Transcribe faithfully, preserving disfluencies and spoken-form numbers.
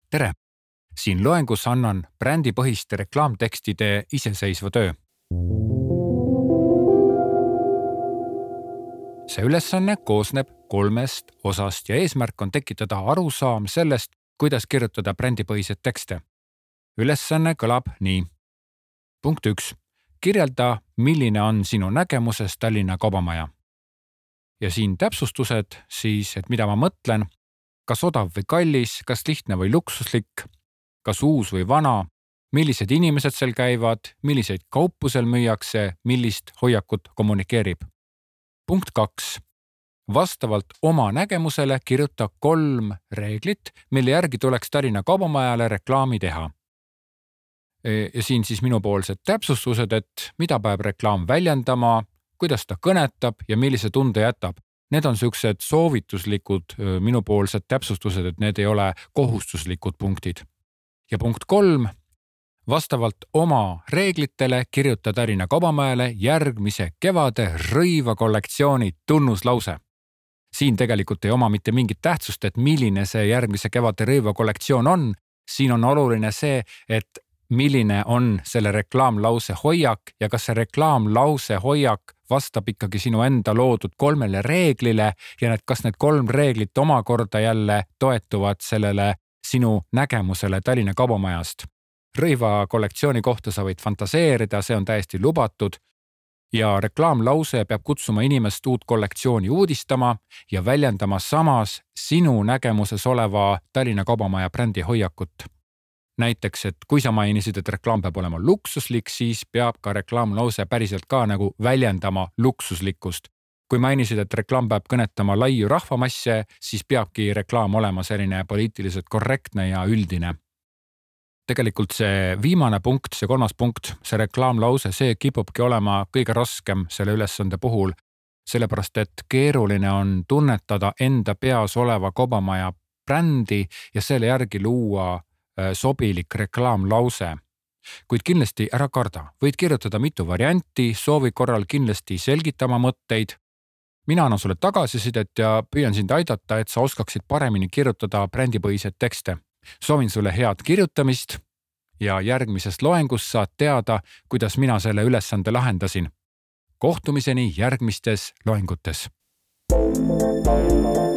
Tere! Siin loengus annan brändipõhiste reklaamtekstide iseseisva töö. See ülesanne koosneb kolmest osast ja eesmärk on tekitada arusaam sellest, kuidas kirjutada brändipõhiseid tekste. Ülesanne kõlab nii. Punkt üks. Kirjelda, milline on sinu nägemuses Tallinna kaubamaja. Ja siin täpsustused siis, et mida ma mõtlen, kas odav või kallis, kas lihtne või luksuslik, kas uus või vana, millised inimesed seal käivad, milliseid kaupu seal müüakse, millist hoiakut kommunikeerib. Punkt kaks. Vastavalt oma nägemusele kirjuta kolm reeglit, mille järgi tuleks Tallinna kaubamajale reklaami teha. Ja siin siis minupoolsed täpsustused, et mida peab reklaam väljendama, kuidas ta kõnetab ja millise tunde jätab. Need on sellised soovituslikud minupoolsed täpsustused, et need ei ole kohustuslikud punktid. Ja punkt kolm. Vastavalt oma reeglitele kirjuta Tallinna kaubamajale järgmise kevade rõiva kollektsiooni tunnuslause. Siin tegelikult ei oma mitte mingit tähtsust, et milline see järgmise kevade rõiva kollektsioon on. Siin on oluline see, et milline on selle reklaamlause hoiak ja kas see reklaamlause hoiak vastab ikkagi sinu enda loodud kolmele reeglile ja need, kas need kolm reeglit omakorda jälle toetuvad sellele sinu nägemusele Tallinna kaubamajast. Rõiva kollektsiooni kohta sa võid fantaseerida, see on täiesti lubatud ja reklaamlause peab kutsuma inimest uut kollektsiooni uudistama ja väljendama samas sinu nägemuses oleva Tallinna kaubamaja brändi hoiakut. Näiteks, et kui sa mainisid, et reklaam peab olema luksuslik, siis peab ka reklaamlause päriselt ka nagu väljendama luksuslikkust. Kui mainisid, et reklaam peab kõnetama laiu rahvamasse, siis peabki reklaam olema selline poliitiliselt korrektne ja üldine. Tegelikult see viimane punkt, see kolmas punkt, see reklaamlause, see kipubki olema kõige raskem selle ülesande puhul, sellepärast et keeruline on tunnetada enda peas oleva kaubamaja brändi ja selle järgi luua sobilik reklaamlause. Kuid kindlasti ära karda. Võid kirjutada mitu varianti, soovi korral kindlasti selgitama mõtteid. Mina annan sulle tagasisidet ja püüan sind aidata, et sa oskaksid paremini kirjutada brändipõhiseid tekste. Soovin sulle head kirjutamist ja järgmises loengus saad teada, kuidas mina selle ülesande lahendasin. Kohtumiseni järgmistes loengutes.